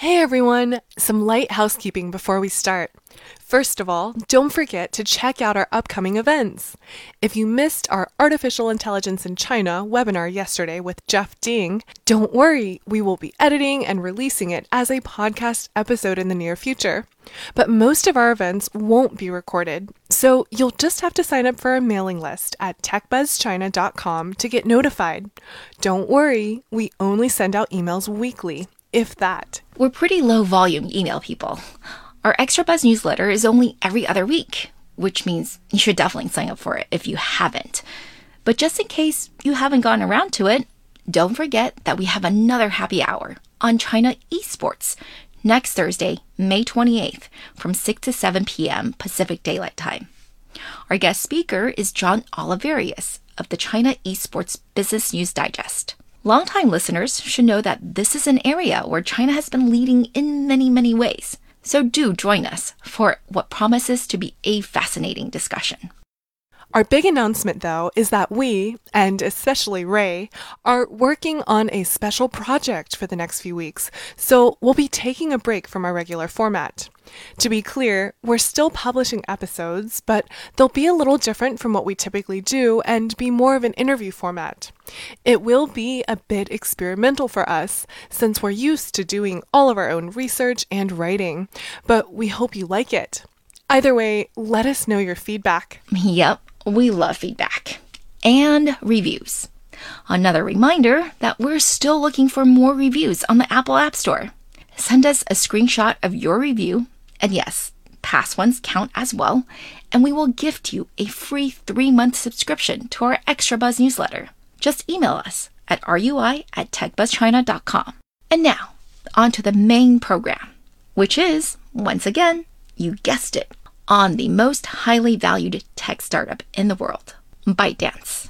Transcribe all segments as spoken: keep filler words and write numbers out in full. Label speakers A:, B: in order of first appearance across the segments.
A: Hey everyone! Some light housekeeping before we start. First of all, don't forget to check out our upcoming events. If you missed our Artificial Intelligence in China webinar yesterday with Jeff Ding, don't worry, we will be editing and releasing it as a podcast episode in the near future. But most of our events won't be recorded, so you'll just have to sign up for our mailing list at tech buzz china dot com to get notified. Don't worry, we only send out emails weekly, if that.
B: We're pretty low volume email people. Our Extra Buzz newsletter is only every other week, which means you should definitely sign up for it if you haven't. But just in case you haven't gotten around to it, don't forget that we have another happy hour on China esports next Thursday, May twenty-eighth from six to seven p.m. Pacific Daylight Time. Our guest speaker is John Oliverius of the China Esports Business News Digest. Longtime listeners should know that this is an area where China has been leading in many, many ways. So do join us for what promises to be a fascinating discussion.
A: Our big announcement, though, is that we, and especially Ray, are working on a special project for the next few weeks, so we'll be taking a break from our regular format. To be clear, we're still publishing episodes, but they'll be a little different from what we typically do and be more of an interview format. It will be a bit experimental for us, since we're used to doing all of our own research and writing, but we hope you like it. Either way, let us know your feedback.
B: Yep. We love feedback and reviews. Another reminder that we're still looking for more reviews on the Apple App Store. Send us a screenshot of your review, and yes, past ones count as well, and we will gift you a free three-month subscription to our Extra Buzz newsletter. Just email us at rui at tech buzz china dot com. And now, on to the main program, which is, once again, you guessed it, on the most highly valued tech startup in the world, ByteDance.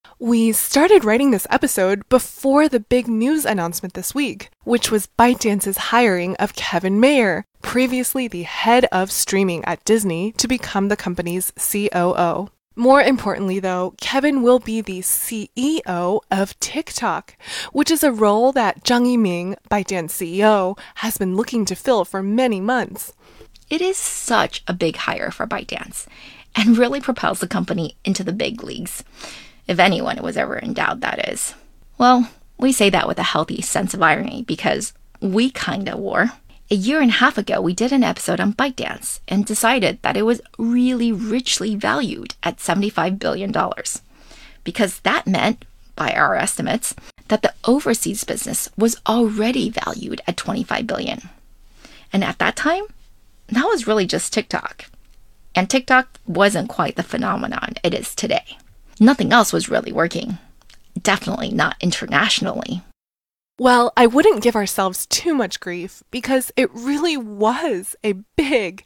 A: We started writing this episode before the big news announcement this week, which was ByteDance's hiring of Kevin Mayer, previously the head of streaming at Disney, to become the company's C O O. More importantly, though, Kevin will be the C E O of TikTok, which is a role that Zhang Yiming, ByteDance C E O, has been looking to fill for many months.
B: It is such a big hire for ByteDance and really propels the company into the big leagues, if anyone was ever in doubt, that is. Well, we say that with a healthy sense of irony because we kinda were. A year and a half ago, we did an episode on ByteDance and decided that it was really richly valued at seventy-five billion dollars because that meant, by our estimates, that the overseas business was already valued at twenty-five billion dollars. And at that time, that was really just TikTok. And TikTok wasn't quite the phenomenon it is today. Nothing else was really working. Definitely not internationally.
A: Well, I wouldn't give ourselves too much grief because it really was a big,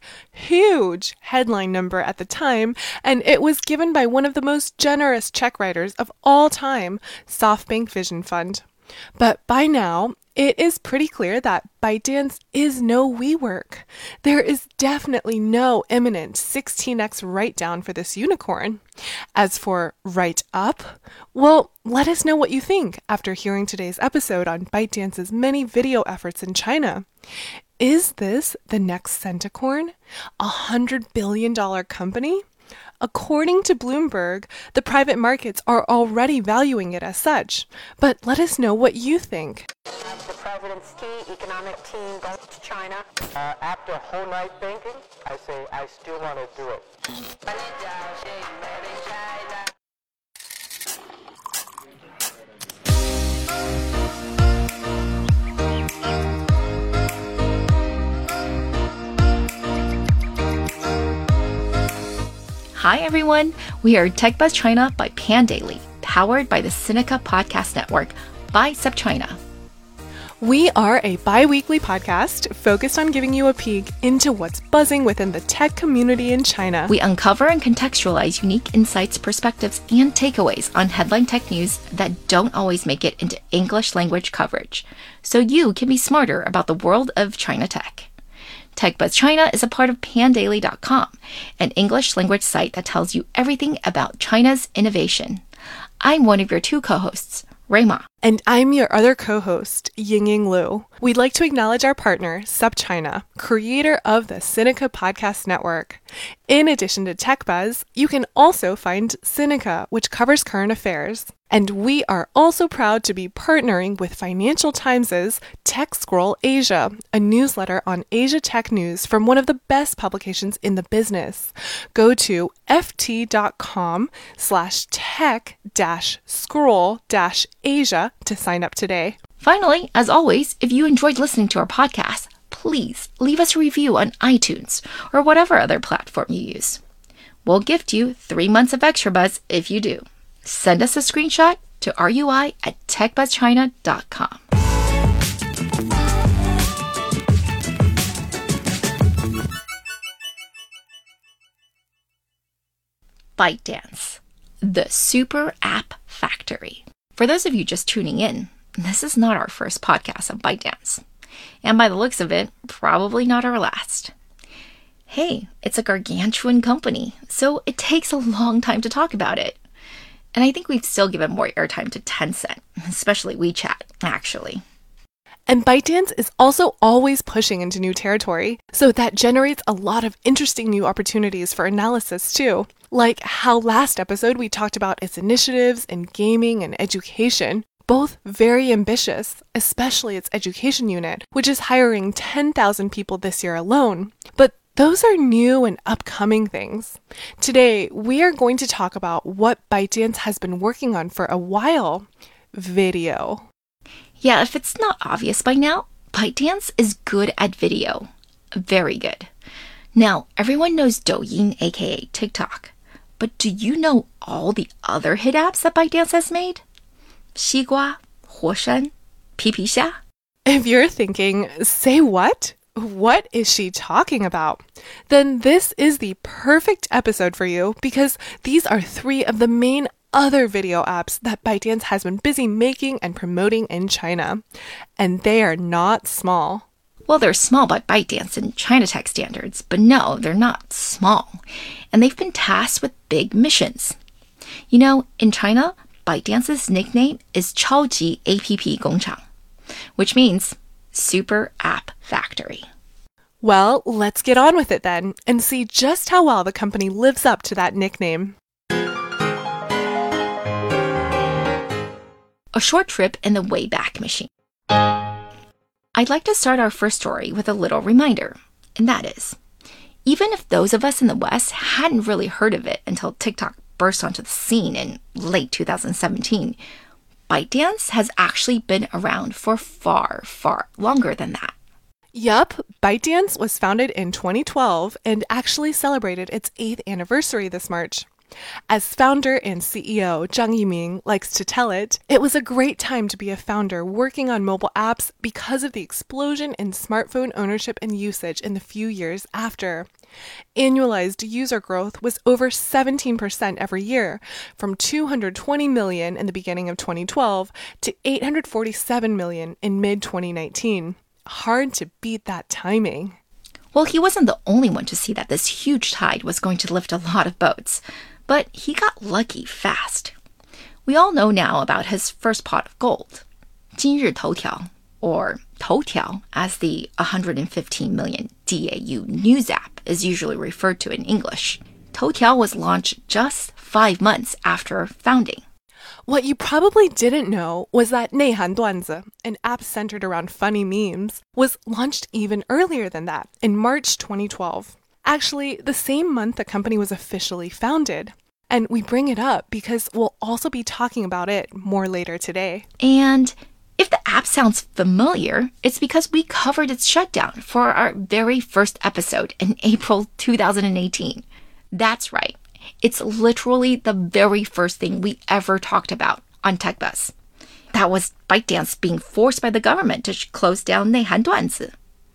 A: huge headline number at the time, and it was given by one of the most generous check writers of all time, SoftBank Vision Fund. But by now, it is pretty clear that ByteDance is no WeWork. There is definitely no imminent sixteen x write-down for this unicorn. As for write-up, well, let us know what you think after hearing today's episode on ByteDance's many video efforts in China. Is this the next Centacorn? A one hundred billion dollars company? According to Bloomberg, the private markets are already valuing it as such. But let us know what you think.
C: The president's key economic team goes to China. Uh, after a whole night thinking, I say I still want to do it.
B: Hi everyone, we are Tech Buzz China by Pandaily, powered by the Sinica Podcast Network by SupChina.
A: We are a bi-weekly podcast focused on giving you a peek into what's buzzing within the tech community in China.
B: We uncover and contextualize unique insights, perspectives, and takeaways on headline tech news that don't always make it into English language coverage, so you can be smarter about the world of China tech. Tech Buzz China is a part of pandaily dot com, an English language site that tells you everything about China's innovation. I'm one of your two co-hosts, Rui Ma.
A: And I'm your other co-host, Yingying Liu. We'd like to acknowledge our partner, SupChina, creator of the Sinica Podcast Network. In addition to TechBuzz, you can also find Sinica, which covers current affairs. And we are also proud to be partnering with Financial Times' Tech Scroll Asia, a newsletter on Asia tech news from one of the best publications in the business. Go to ft.com slash tech dash scroll dash Asia to sign up today.
B: Finally, as always, if you enjoyed listening to our podcast, please leave us a review on iTunes or whatever other platform you use. We'll gift you three months of extra buzz if you do. Send us a screenshot to rui at techbuzzchina dot com. ByteDance, the super app factory. For those of you just tuning in, this is not our first podcast of ByteDance. And by the looks of it, probably not our last. Hey, it's a gargantuan company, so it takes a long time to talk about it. And I think we've still given more airtime to Tencent, especially WeChat, actually.
A: And ByteDance is also always pushing into new territory, so that generates a lot of interesting new opportunities for analysis too. Like how last episode we talked about its initiatives in gaming and education, both very ambitious, especially its education unit, which is hiring ten thousand people this year alone. But those are new and upcoming things. Today, we are going to talk about what ByteDance has been working on for a while: video.
B: Yeah, if it's not obvious by now, ByteDance is good at video. Very good. Now, everyone knows Douyin, aka TikTok. But do you know all the other hit apps that ByteDance has made? Xigua, Huoshan, Pipixa?
A: If you're thinking, say what? What is she talking about? Then this is the perfect episode for you because these are three of the main other video apps that ByteDance has been busy making and promoting in China. And they are not small.
B: Well, they're small by ByteDance and China Tech standards, but no, they're not small. And they've been tasked with big missions. You know, in China, ByteDance's nickname is 超级 A P P 工厂, which means Super App Factory.
A: Well, let's get on with it then and see just how well the company lives up to that nickname.
B: A short trip in the Wayback Machine. I'd like to start our first story with a little reminder, and that is, even if those of us in the West hadn't really heard of it until TikTok burst onto the scene in late two thousand seventeen, ByteDance has actually been around for far, far longer than that.
A: Yup, ByteDance was founded in twenty twelve and actually celebrated its eighth anniversary this March. As founder and C E O Zhang Yiming likes to tell it, it was a great time to be a founder working on mobile apps because of the explosion in smartphone ownership and usage in the few years after. Annualized user growth was over seventeen percent every year, from two hundred twenty million in the beginning of twenty twelve to eight hundred forty-seven million in mid twenty nineteen. Hard to beat that timing.
B: Well, he wasn't the only one to see that this huge tide was going to lift a lot of boats, but he got lucky fast. We all know now about his first pot of gold, 今日头条, or Toutiao, as the one hundred fifteen million D A U news app is usually referred to in English. Toutiao was launched just five months after founding.
A: What you probably didn't know was that 内涵段子, an app centered around funny memes, was launched even earlier than that, in March twenty twelve. Actually, the same month the company was officially founded. And we bring it up because we'll also be talking about it more later today.
B: And if the app sounds familiar, it's because we covered its shutdown for our very first episode in April two thousand eighteen. That's right. It's literally the very first thing we ever talked about on TechBuzz. That was ByteDance being forced by the government to close down 内涵段子.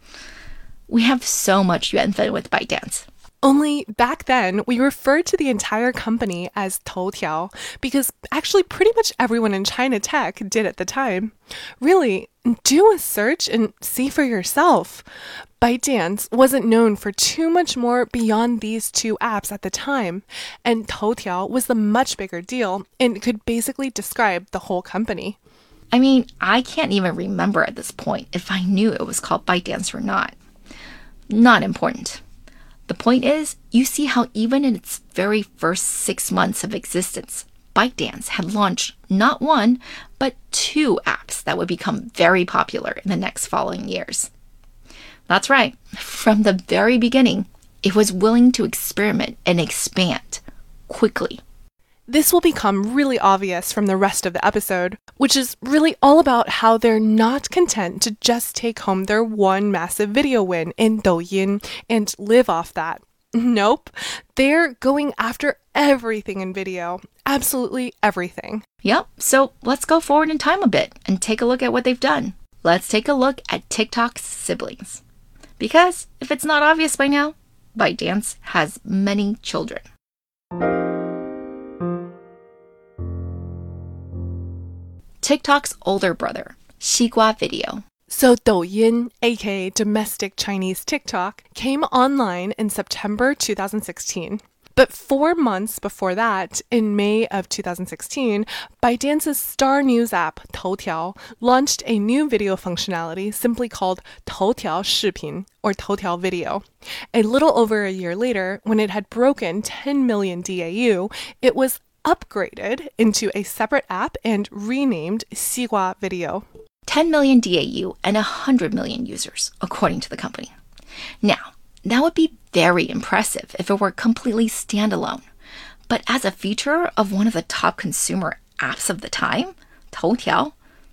B: We have so much 缘分 with ByteDance.
A: Only back then, we referred to the entire company as Toutiao because actually pretty much everyone in China Tech did at the time. Really, do a search and see for yourself. ByteDance wasn't known for too much more beyond these two apps at the time, and Toutiao was the much bigger deal and could basically describe the whole company.
B: I mean, I can't even remember at this point if I knew it was called ByteDance or not. Not important. The point is, you see how even in its very first six months of existence, ByteDance had launched not one, but two apps that would become very popular in the next following years. That's right. From the very beginning, it was willing to experiment and expand quickly.
A: This will become really obvious from the rest of the episode, which is really all about how they're not content to just take home their one massive video win in Douyin and live off that. Nope, they're going after everything in video. Absolutely everything.
B: Yep, so let's go forward in time a bit and take a look at what they've done. Let's take a look at TikTok's siblings. Because if it's not obvious by now, ByteDance has many children. TikTok's older brother, Xigua Video.
A: So Douyin, aka domestic Chinese TikTok, came online in September two thousand sixteen. But four months before that, in May of two thousand sixteen, ByteDance's star news app, Toutiao, launched a new video functionality simply called Toutiao Shipin, or Toutiao Video. A little over a year later, when it had broken ten million D A U, it was upgraded into a separate app and renamed Xigua Video.
B: ten million D A U and one hundred million users, according to the company. Now, that would be very impressive if it were completely standalone. But as a feature of one of the top consumer apps of the time, Toutiao,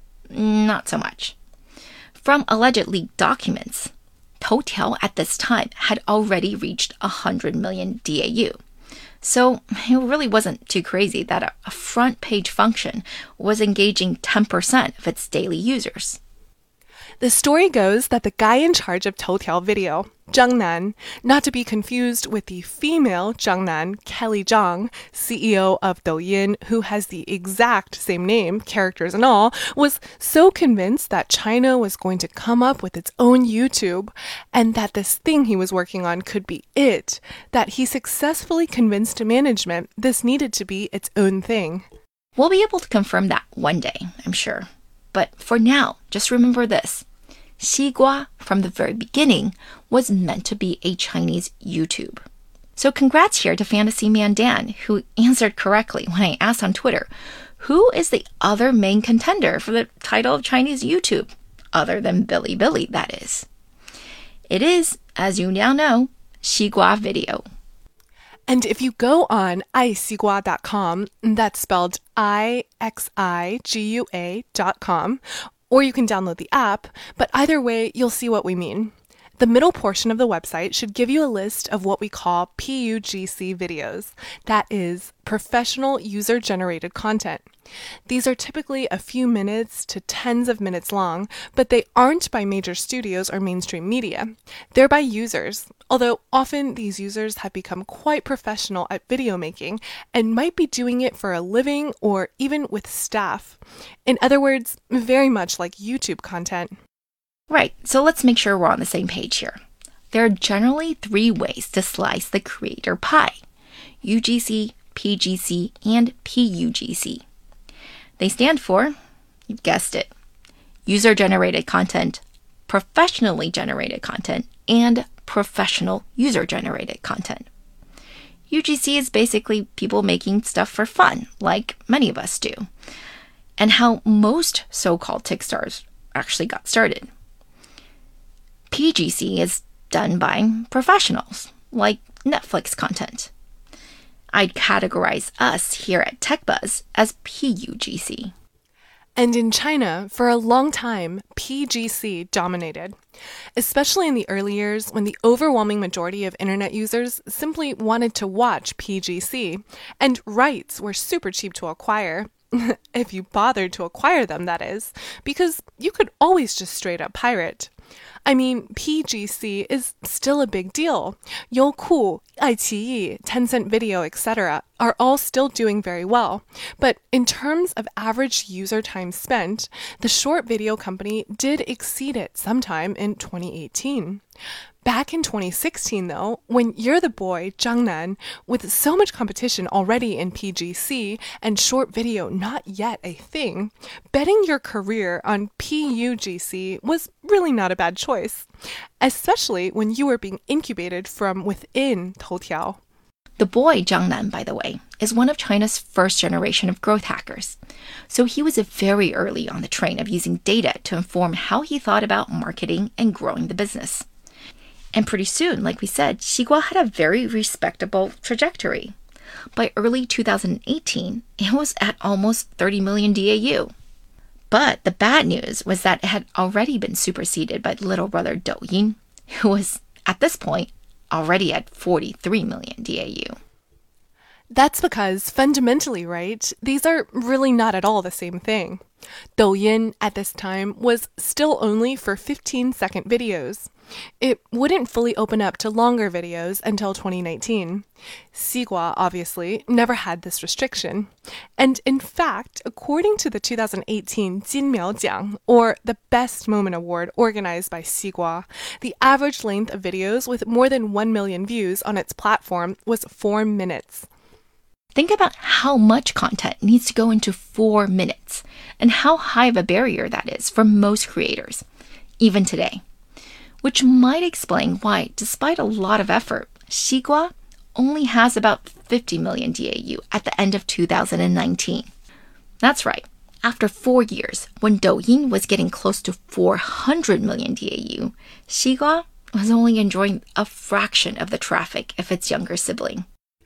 B: not so much. From alleged leaked documents, Toutiao at this time had already reached one hundred million D A U. So it really wasn't too crazy that a, a front page function was engaging ten percent of its daily users.
A: The story goes that the guy in charge of Toutiao Video, Zhang Nan, not to be confused with the female Zhang Nan, Kelly Zhang, C E O of Douyin, who has the exact same name, characters and all, was so convinced that China was going to come up with its own YouTube and that this thing he was working on could be it, that he successfully convinced management this needed to be its own thing.
B: We'll be able to confirm that one day, I'm sure. But for now, just remember this. Xigua, from the very beginning, was meant to be a Chinese YouTube. So congrats here to Fantasy Man Dan, who answered correctly when I asked on Twitter, who is the other main contender for the title of Chinese YouTube, other than Bilibili, that is. It is, as you now know, Xigua Video.
A: And if you go on i xigua dot com, that's spelled I X I G U A dot com, or you can download the app, but either way, you'll see what we mean. The middle portion of the website should give you a list of what we call P U G C videos. That is, professional user-generated content. These are typically a few minutes to tens of minutes long, but they aren't by major studios or mainstream media. They're by users, although often these users have become quite professional at video making and might be doing it for a living or even with staff. In other words, very much like YouTube content.
B: Right, so let's make sure we're on the same page here. There are generally three ways to slice the creator pie: U G C, P G C, and P U G C. They stand for, you've guessed it, user-generated content, professionally generated content, and professional user-generated content. U G C is basically people making stuff for fun, like many of us do, and how most so-called TikStars actually got started. P G C is done by professionals, like Netflix content. I'd categorize us here at TechBuzz as P U G C.
A: And in China, for a long time, P G C dominated, especially in the early years when the overwhelming majority of internet users simply wanted to watch P G C, and rights were super cheap to acquire, if you bothered to acquire them, that is, because you could always just straight up pirate. I mean, P G C is still a big deal. Youku, iQIYI, Tencent Video, et cetera are all still doing very well. But in terms of average user time spent, the short video company did exceed it sometime in twenty eighteen. Back in twenty sixteen, though, when You're the Boy, Jiangnan, with so much competition already in P G C and short video not yet a thing, betting your career on P U G C was really not a bad choice, especially when you were being incubated from within Toutiao.
B: The boy, Jiangnan, by the way, is one of China's first generation of growth hackers. So he was very early on the train of using data to inform how he thought about marketing and growing the business. And pretty soon, like we said, Xigua had a very respectable trajectory. By early two thousand eighteen, it was at almost thirty million D A U. But the bad news was that it had already been superseded by little brother Douyin, who was, at this point, already at forty-three million D A U.
A: That's because, fundamentally, right, these are really not at all the same thing. Douyin, at this time, was still only for fifteen-second videos. It wouldn't fully open up to longer videos until twenty nineteen. Xigua, obviously, never had this restriction. And in fact, according to the two thousand eighteen Jinmiao Jiang, or the Best Moment Award organized by Xigua, the average length of videos with more than one million views on its platform was four minutes.
B: Think about how much content needs to go into four minutes and how high of a barrier that is for most creators, even today. Which might explain why, despite a lot of effort, Xigua only has about fifty million D A U at the end of two thousand nineteen. That's right. After four years, when Douyin was getting close to four hundred million D A U, Xigua was only enjoying a fraction of the traffic of its younger sibling.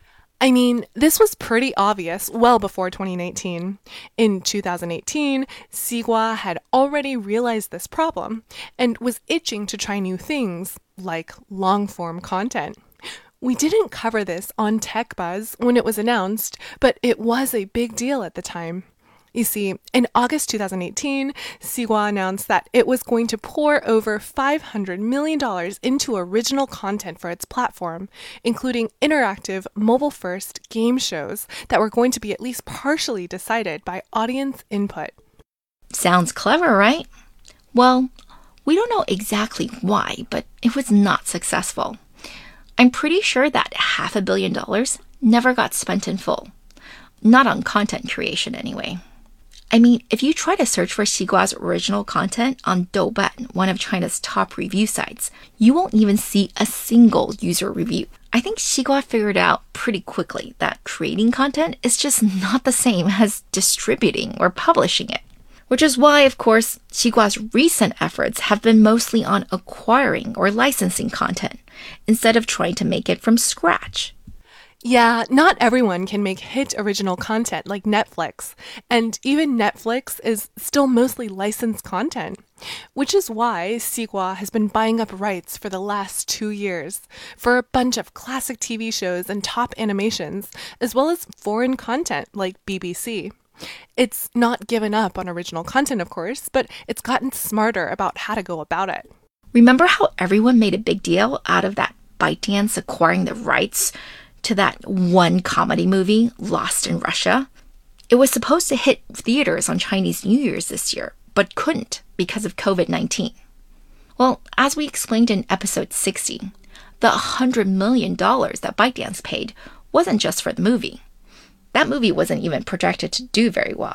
A: I mean, this was pretty obvious well before twenty nineteen. In two thousand eighteen, Xigua had already realized this problem and was itching to try new things, like long-form content. We didn't cover this on TechBuzz when it was announced, but it was a big deal at the time. You see, in August two thousand eighteen, Xigua announced that it was going to pour over five hundred million dollars into original content for its platform, including interactive, mobile-first game shows that were going to be at least partially decided by audience input.
B: Sounds clever, right? Well, we don't know exactly why, but it was not successful. I'm pretty sure that half a billion dollars never got spent in full. Not on content creation, anyway. I mean, if you try to search for Xigua's original content on Douban, one of China's top review sites, you won't even see a single user review. I think Xigua figured out pretty quickly that creating content is just not the same as distributing or publishing it. Which is why, of course, Xigua's recent efforts have been mostly on acquiring or licensing content, instead of trying to make it from scratch.
A: Yeah, not everyone can make hit original content like Netflix, and even Netflix is still mostly licensed content, which is why Xigua has been buying up rights for the last two years for a bunch of classic T V shows and top animations, as well as foreign content like B B C. It's not given up on original content, of course, but it's gotten smarter about how to go about it.
B: Remember how everyone made a big deal out of that ByteDance acquiring the rights to that one comedy movie, Lost in Russia? It was supposed to hit theaters on Chinese New Year's this year, but couldn't because of covid nineteen. Well, as we explained in episode sixty, the one hundred million dollars that ByteDance paid wasn't just for the movie. That movie wasn't even projected to do very well.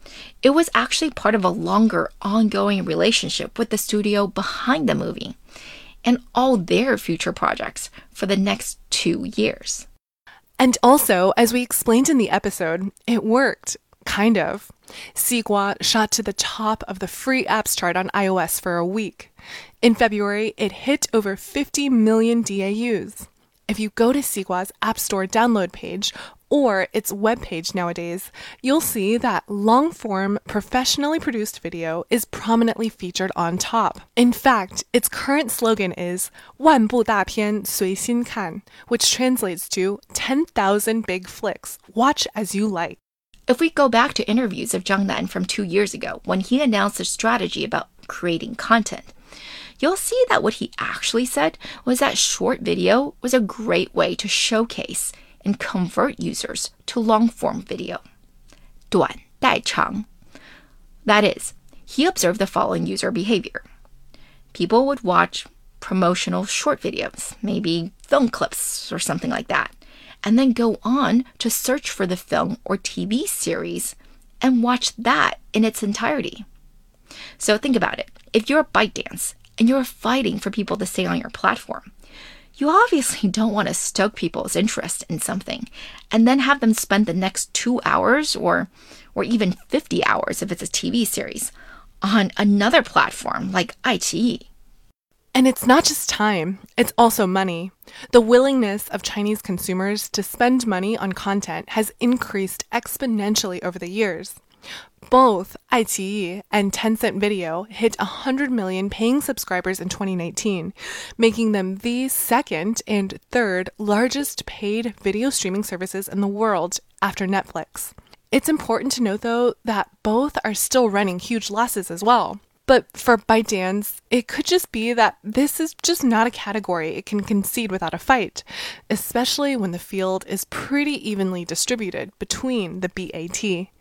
B: It was actually part of a longer, ongoing relationship with the studio behind the movie and all their future projects for the next two years.
A: And also, as we explained in the episode, it worked, kind of. Xigua shot to the top of the free apps chart on iOS for a week. In February, it hit over fifty million D A Us. If you go to Xigua's App Store download page, or its webpage nowadays, you'll see that long-form, professionally produced video is prominently featured on top. In fact, its current slogan is 万部大片随心看, which translates to ten thousand big flicks, watch as you like.
B: If we go back to interviews of Jiangnan from two years ago, when he announced a strategy about creating content, you'll see that what he actually said was that short video was a great way to showcase and convert users to long-form video. 短代长. That is, he observed the following user behavior. People would watch promotional short videos, maybe film clips or something like that, and then go on to search for the film or T V series and watch that in its entirety. So think about it. If you're ByteDance and you're fighting for people to stay on your platform, you obviously don't want to stoke people's interest in something and then have them spend the next two hours or, or even fifty hours if it's a T V series on another platform like iQIYI.
A: And it's not just time, it's also money. The willingness of Chinese consumers to spend money on content has increased exponentially over the years. Both iQIYI and Tencent Video hit one hundred million paying subscribers in twenty nineteen, making them the second and third largest paid video streaming services in the world after Netflix. It's important to note, though, that both are still running huge losses as well. But for ByteDance, it could just be that this is just not a category it can concede without a fight, especially when the field is pretty evenly distributed between the B A T.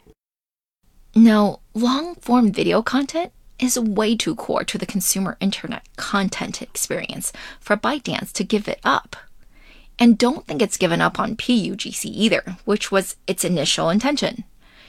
B: Now, long-form video content is way too core to the consumer internet content experience for ByteDance to give it up. And don't think it's given up on P U G C either, which was its initial intention.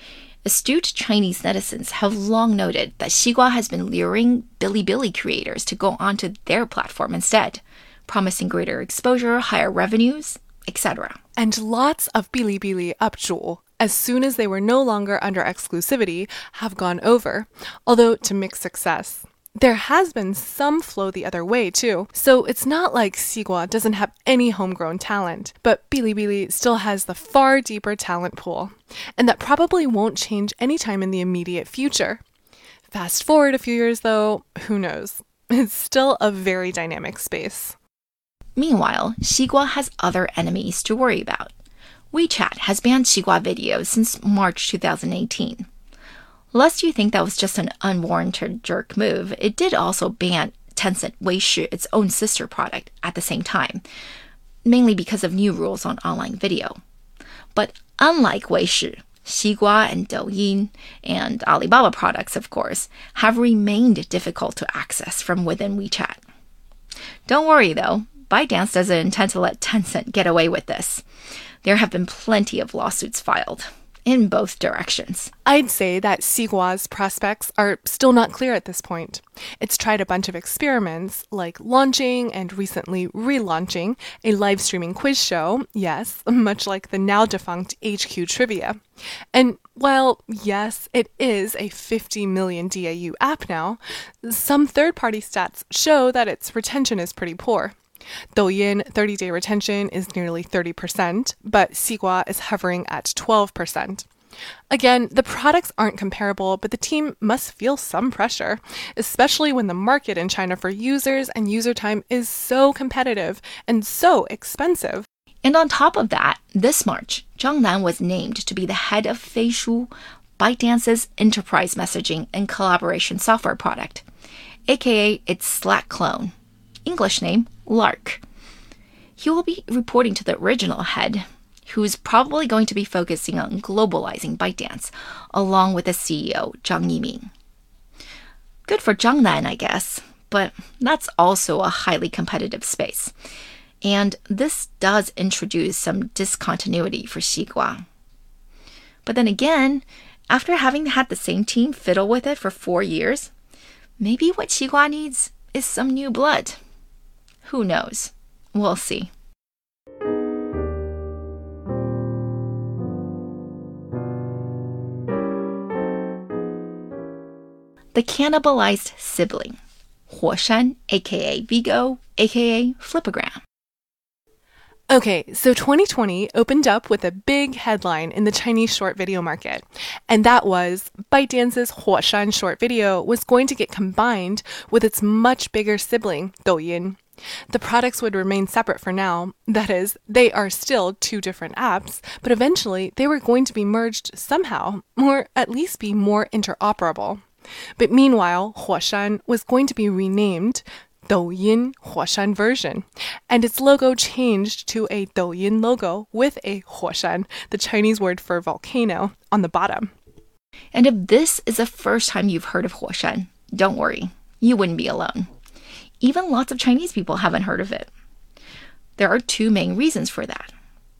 B: Astute Chinese netizens have long noted that Xigua has been luring Bilibili creators to go onto their platform instead, promising greater exposure, higher revenues, et cetera.
A: And lots of Bilibili up主, as soon as they were no longer under exclusivity, have gone over, although to mixed success. There has been some flow the other way, too, so it's not like Xigua doesn't have any homegrown talent, but Bilibili still has the far deeper talent pool, and that probably won't change anytime in the immediate future. Fast forward a few years, though, who knows? It's still a very dynamic space.
B: Meanwhile, Xigua has other enemies to worry about. WeChat has banned Xigua videos since March two thousand eighteen. Lest you think that was just an unwarranted jerk move, it did also ban Tencent Weishi, its own sister product, at the same time, mainly because of new rules on online video. But unlike Weishi, Xigua and Douyin, and Alibaba products, of course, have remained difficult to access from within WeChat. Don't worry, though. ByteDance doesn't intend to let Tencent get away with this. There have been plenty of lawsuits filed in both directions.
A: I'd say that Xigua's prospects are still not clear at this point. It's tried a bunch of experiments, like launching and recently relaunching a live streaming quiz show, yes, much like the now defunct H Q Trivia. And while, yes, it is a fifty million D A U app now, some third-party stats show that its retention is pretty poor. Douyin thirty-day retention is nearly thirty percent, but Xigua is hovering at twelve percent. Again, the products aren't comparable, but the team must feel some pressure, especially when the market in China for users and user time is so competitive and so expensive.
B: And on top of that, this March, Zhang Nan was named to be the head of Feishu, ByteDance's enterprise messaging and collaboration software product, aka its Slack clone. English name, Lark. He will be reporting to the original head, who's probably going to be focusing on globalizing ByteDance, along with the C E O, Zhang Yiming. Good for Zhang Nan, I guess, but that's also a highly competitive space. And this does introduce some discontinuity for Xigua. But then again, after having had the same team fiddle with it for four years, maybe what Xigua needs is some new blood. Who knows? We'll see. The cannibalized sibling, Huoshan, aka Vigo, aka Flipagram.
A: Okay, so twenty twenty opened up with a big headline in the Chinese short video market, and that was ByteDance's Huoshan short video was going to get combined with its much bigger sibling, Douyin. The products would remain separate for now. That is, they are still two different apps, but eventually they were going to be merged somehow, or at least be more interoperable. But meanwhile, Huoshan was going to be renamed Douyin Huoshan version, and its logo changed to a Douyin logo with a Huoshan, the Chinese word for volcano, on the bottom.
B: And if this is the first time you've heard of Huoshan, don't worry, you wouldn't be alone. Even lots of Chinese people haven't heard of it. There are two main reasons for that.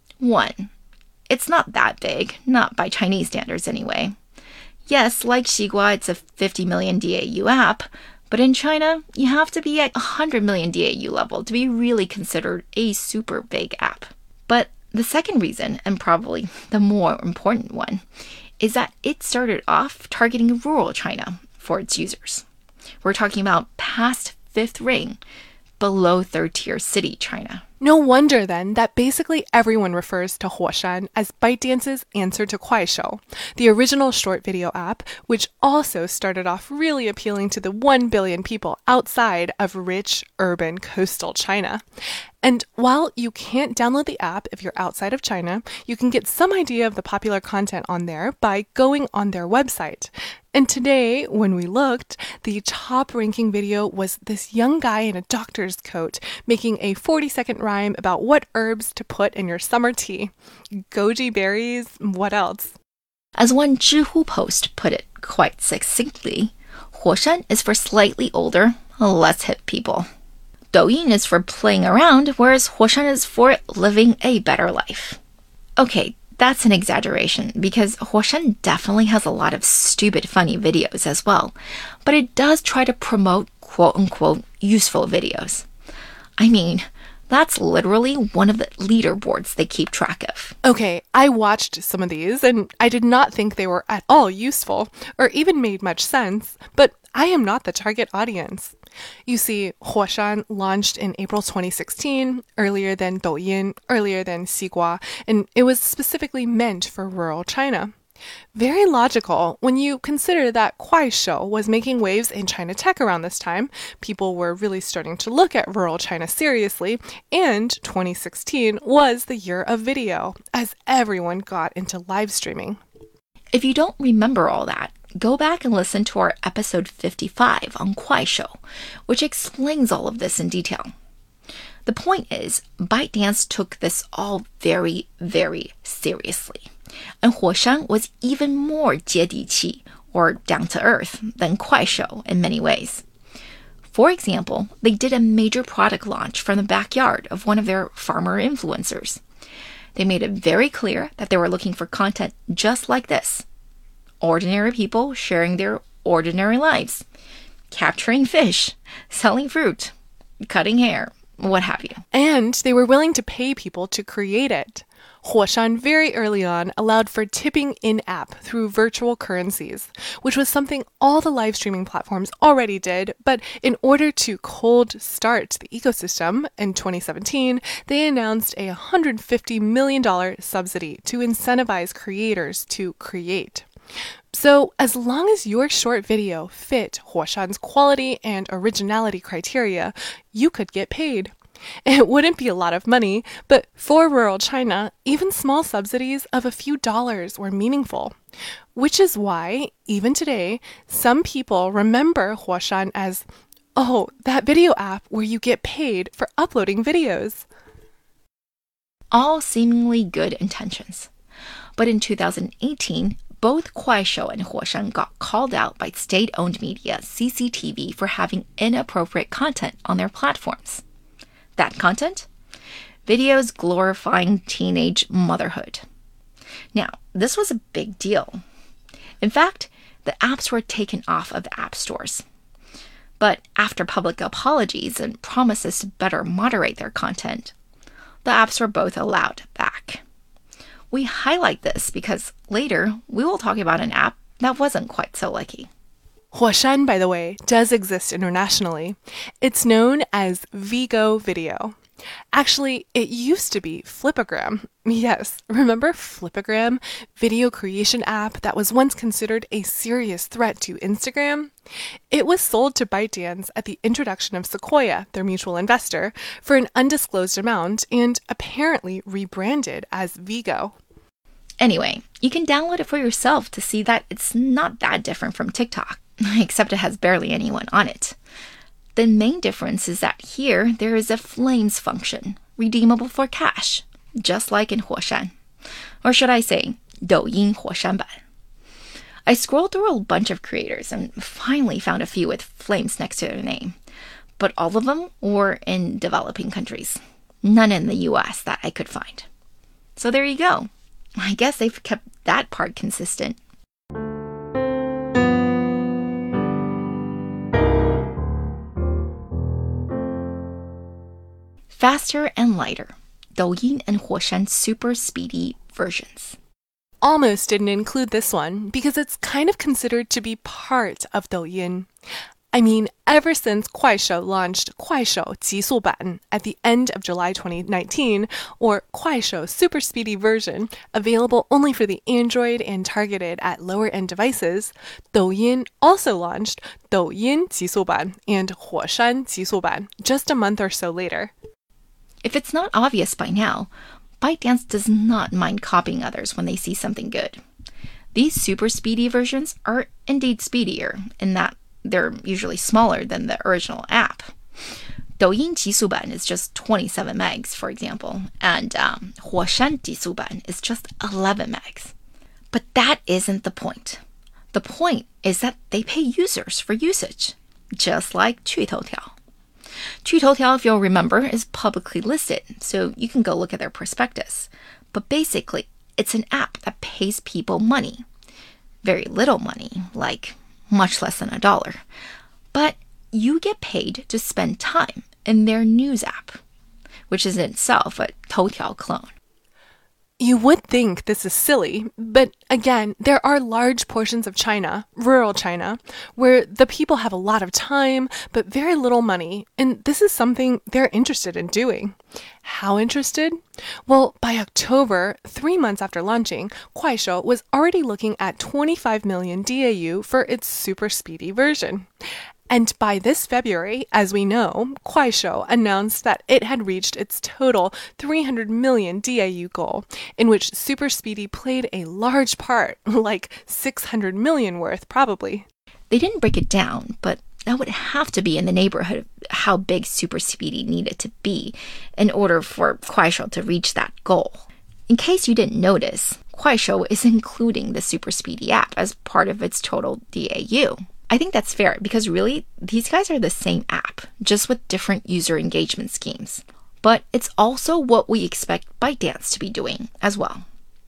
B: One, it's not that big, not by Chinese standards anyway. Yes, like Xigua, it's a fifty million D A U app, but in China, you have to be at one hundred million D A U level to be really considered a super big app. But the second reason, and probably the more important one, is that it started off targeting rural China for its users. We're talking about past fifth ring, below third tier city China.
A: No wonder then that basically everyone refers to Huoshan as ByteDance's answer to Kuaishou, the original short video app, which also started off really appealing to the one billion people outside of rich, urban, coastal China. And while you can't download the app if you're outside of China, you can get some idea of the popular content on there by going on their website. And today, when we looked, the top ranking video was this young guy in a doctor's coat making a forty second rhyme about what herbs to put in your summer tea. Goji berries, what else?
B: As one Zhihu post put it quite succinctly, Huoshan is for slightly older, less hip people. Douyin is for playing around, whereas Huoshan is for living a better life. Okay, that's an exaggeration, because Huoshan definitely has a lot of stupid funny videos as well, but it does try to promote quote-unquote useful videos. I mean, that's literally one of the leaderboards they keep track of.
A: Okay, I watched some of these, and I did not think they were at all useful, or even made much sense, but I am not the target audience. You see, Huoshan launched in April twenty sixteen, earlier than Douyin, earlier than Xigua, and it was specifically meant for rural China. Very logical when you consider that Kuaishou was making waves in China tech around this time. People were really starting to look at rural China seriously, and twenty sixteen was the year of video, as everyone got into live streaming.
B: If you don't remember all that, go back and listen to our episode fifty-five on Kuaishou, which explains all of this in detail. The point is, ByteDance took this all very, very seriously. And Huoshan was even more 接地气, or down to earth, than Kuaishou in many ways. For example, they did a major product launch from the backyard of one of their farmer influencers. They made it very clear that they were looking for content just like this. Ordinary people sharing their ordinary lives, capturing fish, selling fruit, cutting hair, what have you.
A: And they were willing to pay people to create it. Huoshan very early on allowed for tipping in-app through virtual currencies, which was something all the live streaming platforms already did, but in order to cold start the ecosystem, in twenty seventeen, they announced a one hundred fifty million dollars subsidy to incentivize creators to create. So, as long as your short video fit Huoshan's quality and originality criteria, you could get paid. It wouldn't be a lot of money, but for rural China, even small subsidies of a few dollars were meaningful. Which is why, even today, some people remember Huoshan as, oh, that video app where you get paid for uploading videos.
B: All seemingly good intentions. But in two thousand eighteen, both Kuaishou and Huoshan got called out by state-owned media C C T V for having inappropriate content on their platforms. That content? Videos glorifying teenage motherhood. Now, this was a big deal. In fact, the apps were taken off of app stores. But after public apologies and promises to better moderate their content, the apps were both allowed back. We highlight this because later we will talk about an app that wasn't quite so lucky.
A: Huoshan, by the way, does exist internationally. It's known as Vigo Video. Actually, it used to be Flipagram. Yes, remember Flipagram? Video creation app that was once considered a serious threat to Instagram? It was sold to ByteDance at the introduction of Sequoia, their mutual investor, for an undisclosed amount and apparently rebranded as Vigo.
B: Anyway, you can download it for yourself to see that it's not that different from TikTok, except it has barely anyone on it. The main difference is that here there is a flames function, redeemable for cash, just like in Huoshan. Or should I say, Douyin Huoshan版. I scrolled through a bunch of creators and finally found a few with flames next to their name. But all of them were in developing countries. None in the U S that I could find. So there you go. I guess they've kept that part consistent. Faster and lighter. Douyin and Huoshan super speedy versions.
A: Almost didn't include this one because it's kind of considered to be part of Douyin. I mean, ever since Kuaishou launched Kuaishou 极速版 at the end of July twenty nineteen, or Kuaishou Super Speedy version, available only for the Android and targeted at lower-end devices, Douyin also launched Douyin 极速版 and Huoshan 极速版 just a month or so later.
B: If it's not obvious by now, ByteDance does not mind copying others when they see something good. These super speedy versions are indeed speedier in that they're usually smaller than the original app. Douyin 极速版 is just twenty-seven megs, for example, and um, Huoshan 极速版 is just eleven megs. But that isn't the point. The point is that they pay users for usage, just like 趣头条. 趣头条, if you'll remember, is publicly listed, so you can go look at their prospectus. But basically, it's an app that pays people money. Very little money, like much less than a dollar. But you get paid to spend time in their news app, which is in itself a Toutiao clone.
A: You would think this is silly, but again, there are large portions of China, rural China, where the people have a lot of time, but very little money, and this is something they're interested in doing. How interested? Well, by October, three months after launching, Kuaishou was already looking at twenty-five million D A U for its super speedy version. And by this February, as we know, Kuaishou announced that it had reached its total three hundred million D A U goal, in which Super Speedy played a large part, like six hundred million worth, probably.
B: They didn't break it down, but that would have to be in the neighborhood of how big Super Speedy needed to be in order for Kuaishou to reach that goal. In case you didn't notice, Kuaishou is including the Super Speedy app as part of its total D A U. I think that's fair because really, these guys are the same app, just with different user engagement schemes. But it's also what we expect ByteDance to be doing as well.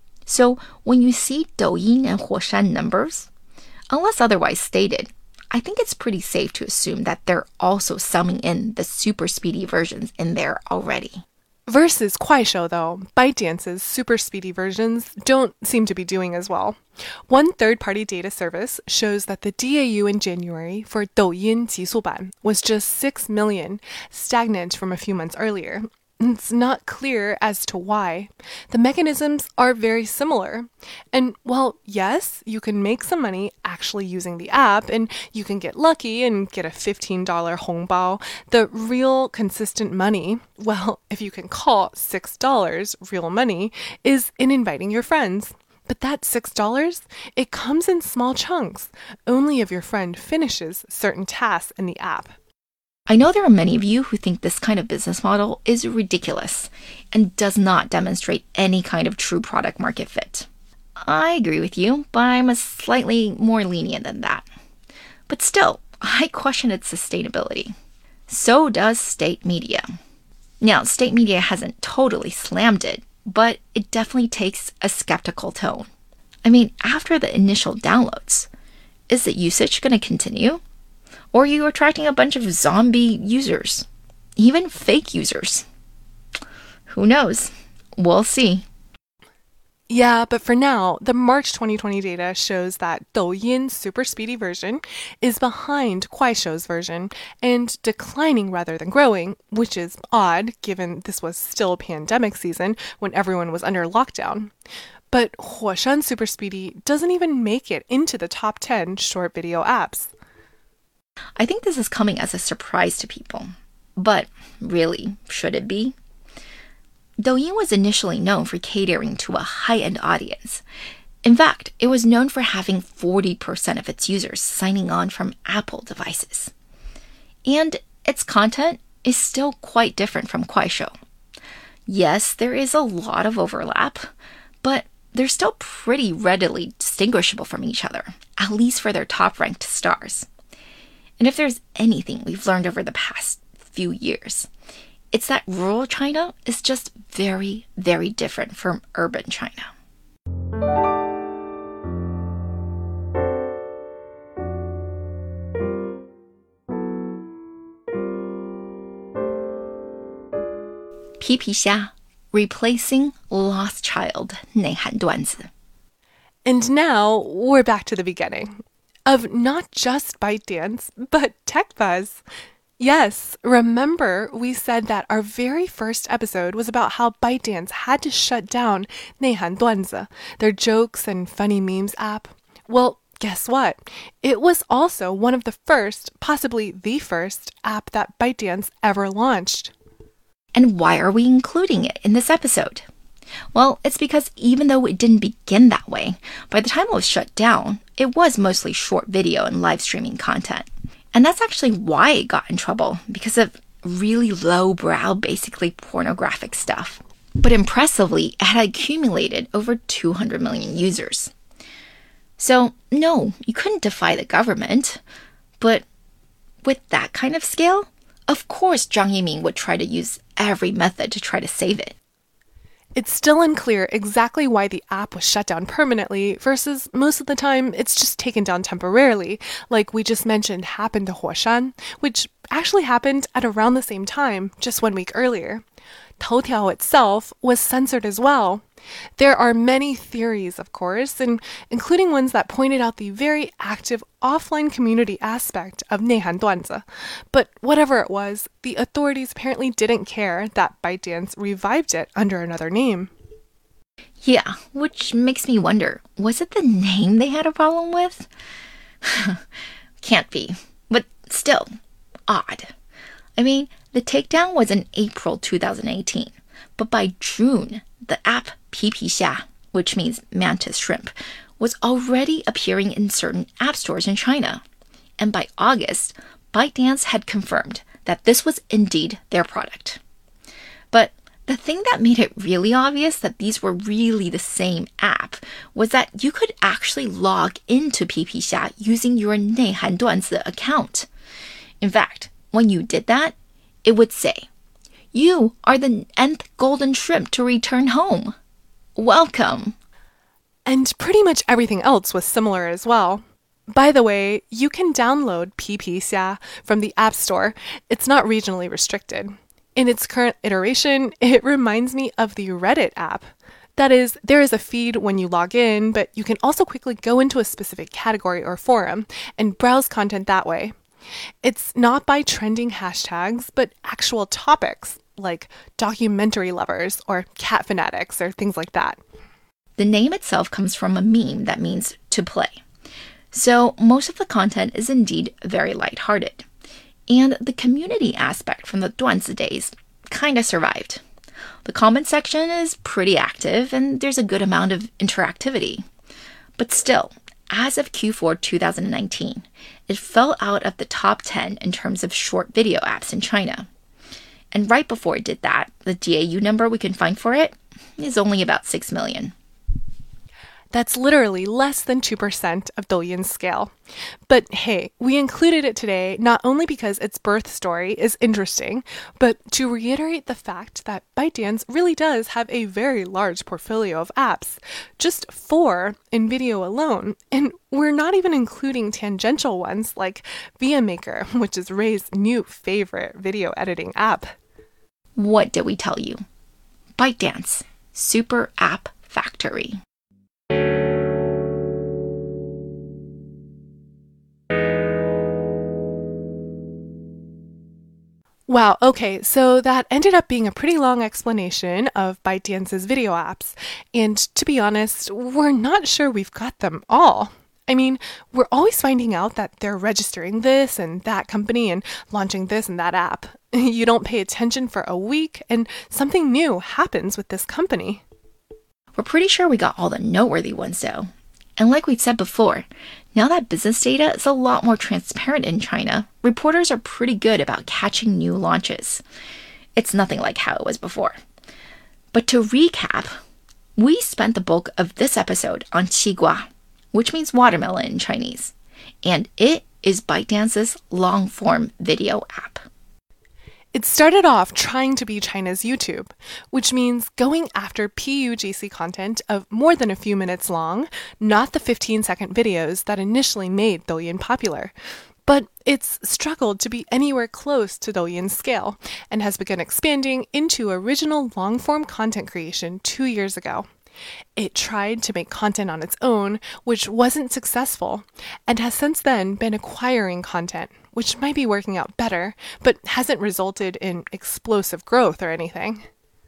B: So when you see Douyin and Huoshan numbers, unless otherwise stated, I think it's pretty safe to assume that they're also summing in the super speedy versions in there already.
A: Versus Kuaishou, though, ByteDance's super speedy versions don't seem to be doing as well. One third-party data service shows that the D A U in January for Douyin 极速版 was just six million, stagnant from a few months earlier. It's not clear as to why. The mechanisms are very similar. And while, yes, you can make some money actually using the app, and you can get lucky and get a fifteen dollars hongbao, the real consistent money, well, if you can call six dollars real money, is in inviting your friends. But that six dollars, it comes in small chunks, only if your friend finishes certain tasks in the app.
B: I know there are many of you who think this kind of business model is ridiculous and does not demonstrate any kind of true product market fit. I agree with you, but I'm a slightly more lenient than that. But still, I question its sustainability. So does state media. Now, state media hasn't totally slammed it, but it definitely takes a skeptical tone. I mean, after the initial downloads, is the usage going to continue? Or are you attracting a bunch of zombie users? Even fake users? Who knows? We'll see.
A: Yeah, but for now, the March twenty twenty data shows that Douyin's super speedy version is behind Kuaishou's version and declining rather than growing, which is odd given this was still pandemic season when everyone was under lockdown. But Huoshan Super Speedy doesn't even make it into the top ten short video apps.
B: I think this is coming as a surprise to people. But really, should it be? Douyin was initially known for catering to a high-end audience. In fact, it was known for having forty percent of its users signing on from Apple devices. And its content is still quite different from Kuaishou. Yes, there is a lot of overlap, but they're still pretty readily distinguishable from each other, at least for their top-ranked stars. And if there's anything we've learned over the past few years, it's that rural China is just very, very different from urban China. P P Xia, replacing lost child 内涵段子.
A: And now we're back to the beginning of not just ByteDance, but TechBuzz. Yes, remember we said that our very first episode was about how ByteDance had to shut down 内涵段子, their jokes and funny memes app. Well, guess what? It was also one of the first, possibly the first, app that ByteDance ever launched.
B: And why are we including it in this episode? Well, it's because even though it didn't begin that way, by the time it was shut down, it was mostly short video and live streaming content. And that's actually why it got in trouble, because of really low-brow, basically pornographic stuff. But impressively, it had accumulated over two hundred million users. So, no, you couldn't defy the government. But with that kind of scale, of course Zhang Yiming would try to use every method to try to save it.
A: It's still unclear exactly why the app was shut down permanently versus most of the time it's just taken down temporarily, like we just mentioned happened to Huoshan, which actually happened at around the same time, just one week earlier. Toutiao itself was censored as well. There are many theories, of course, and including ones that pointed out the very active offline community aspect of 内涵段子. But whatever it was, the authorities apparently didn't care that ByteDance revived it under another name.
B: Yeah, which makes me wonder, was it the name they had a problem with? Can't be, but still, odd. I mean, the takedown was in April two thousand eighteen, but by June, the app P P Xia, which means mantis shrimp, was already appearing in certain app stores in China. And by August, ByteDance had confirmed that this was indeed their product. But the thing that made it really obvious that these were really the same app was that you could actually log into P P Xia using your 内涵段子 account. In fact, when you did that, it would say, "You are the nth golden shrimp to return home. Welcome."
A: And pretty much everything else was similar as well. By the way, you can download P P Xia from the App Store. It's not regionally restricted. In its current iteration, it reminds me of the Reddit app. That is, there is a feed when you log in, but you can also quickly go into a specific category or forum and browse content that way. It's not by trending hashtags, but actual topics, like documentary lovers or cat fanatics or things like that.
B: The name itself comes from a meme that means to play. So most of the content is indeed very lighthearted. And the community aspect from the 段子 days kind of survived. The comment section is pretty active and there's a good amount of interactivity. But still, as of Q four two thousand nineteen, it fell out of the top ten in terms of short video apps in China. And right before it did that, the D A U number we can find for it is only about six million.
A: That's literally less than two percent of Douyin's scale. But hey, we included it today not only because its birth story is interesting, but to reiterate the fact that ByteDance really does have a very large portfolio of apps, just four in video alone, and we're not even including tangential ones like ViaMaker, which is Ray's new favorite video editing app.
B: What did we tell you? ByteDance, Super App Factory.
A: Wow, okay, so that ended up being a pretty long explanation of ByteDance's video apps. And to be honest, we're not sure we've got them all. I mean, we're always finding out that they're registering this and that company and launching this and that app. You don't pay attention for a week and something new happens with this company.
B: We're pretty sure we got all the noteworthy ones though. And like we've said before, Now that business data is a lot more transparent in China, reporters are pretty good about catching new launches. It's nothing like how it was before. But to recap, we spent the bulk of this episode on qigua, which means watermelon in Chinese, and it is ByteDance's long-form video app.
A: It started off trying to be China's YouTube, which means going after P U G C content of more than a few minutes long, not the fifteen-second videos that initially made Douyin popular. But it's struggled to be anywhere close to Douyin's scale and has begun expanding into original long-form content creation two years ago. It tried to make content on its own, which wasn't successful, and has since then been acquiring content, which might be working out better, but hasn't resulted in explosive growth or anything.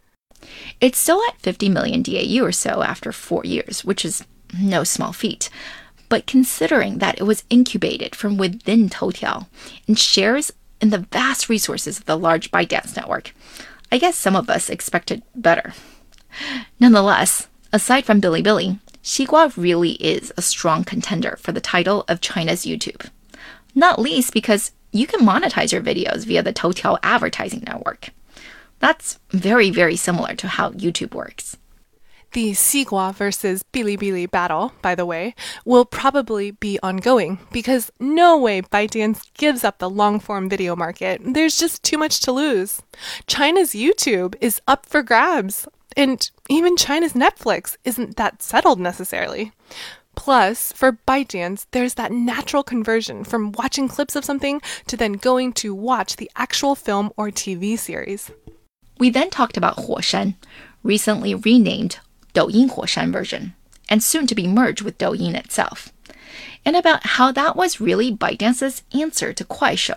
B: It's still at fifty million D A U or so after four years, which is no small feat. But considering that it was incubated from within Toutiao and shares in the vast resources of the large ByteDance network, I guess some of us expected better. Nonetheless, aside from Bilibili, qigua really is a strong contender for the title of China's YouTube. Not least because you can monetize your videos via the Toutiao advertising network. That's very, very similar to how YouTube works.
A: The Xigua versus Bilibili battle, by the way, will probably be ongoing because no way ByteDance gives up the long-form video market. There's just too much to lose. China's YouTube is up for grabs, and even China's Netflix isn't that settled necessarily. Plus, for ByteDance, there's that natural conversion from watching clips of something to then going to watch the actual film or T V series.
B: We then talked about Huoshan, recently renamed Douyin Huoshan version, and soon to be merged with Douyin itself, and about how that was really ByteDance's answer to Kuaishou.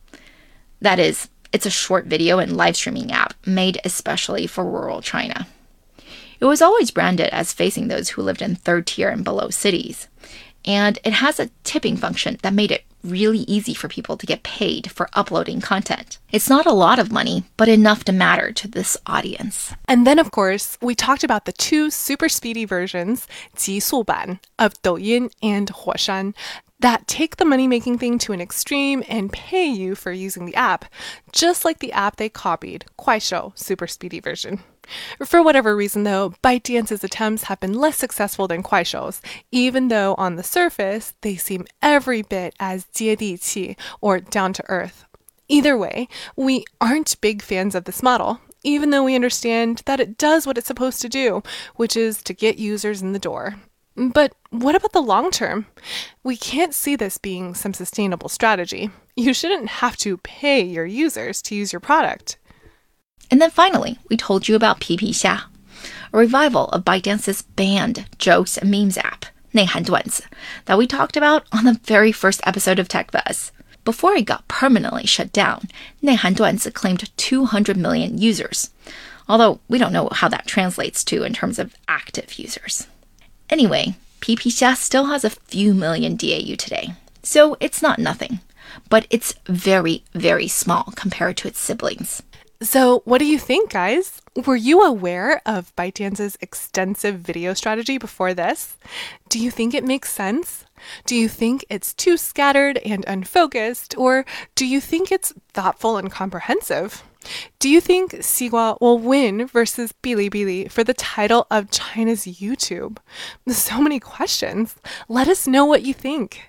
B: That is, it's a short video and live streaming app made especially for rural China. It was always branded as facing those who lived in third tier and below cities, and it has a tipping function that made it really easy for people to get paid for uploading content. It's not a lot of money, but enough to matter to this audience.
A: And then, of course, we talked about the two super speedy versions, 极速版, of Douyin and Huoshan, that take the money-making thing to an extreme and pay you for using the app, just like the app they copied, Kuaishou super speedy version. For whatever reason, though, ByteDance's attempts have been less successful than Kuaishou's, even though on the surface, they seem every bit as 接地气, or down-to-earth. Either way, we aren't big fans of this model, even though we understand that it does what it's supposed to do, which is to get users in the door. But what about the long term? We can't see this being some sustainable strategy. You shouldn't have to pay your users to use your product.
B: And then finally, we told you about Pipixia, a revival of ByteDance's banned jokes and memes app, 内涵段子, that we talked about on the very first episode of Tech Buzz. Before it got permanently shut down, 内涵段子claimed two hundred million users, although we don't know how that translates to in terms of active users. Anyway, Pipixia still has a few million D A U today, so it's not nothing, but it's very, very small compared to its siblings.
A: So what do you think, guys? Were you aware of ByteDance's extensive video strategy before this? Do you think it makes sense? Do you think it's too scattered and unfocused, or do you think it's thoughtful and comprehensive? Do you think Xigua will win versus Bilibili for the title of China's YouTube? So many questions. Let us know what you think.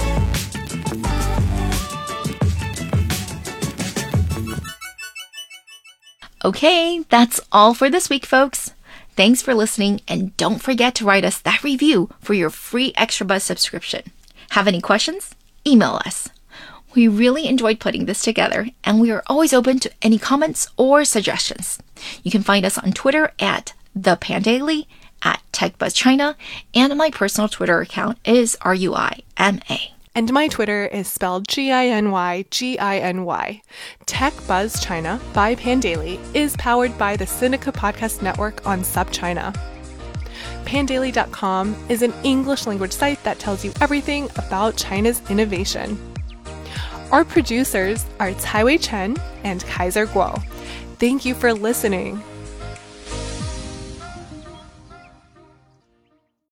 B: Okay, that's all for this week, folks. Thanks for listening, and don't forget to write us that review for your free Extra Buzz subscription. Have any questions? Email us. We really enjoyed putting this together, and we are always open to any comments or suggestions. You can find us on Twitter at ThePandaily, at TechBuzzChina, and my personal Twitter account is R U I M A.
A: And my Twitter is spelled G I N Y G I N Y. Tech Buzz China by Pandaily is powered by the Sinica Podcast Network on SubChina. Pandaily dot com is an English language site that tells you everything about China's innovation. Our producers are Caiwei Chen and Kaiser Guo. Thank you for listening.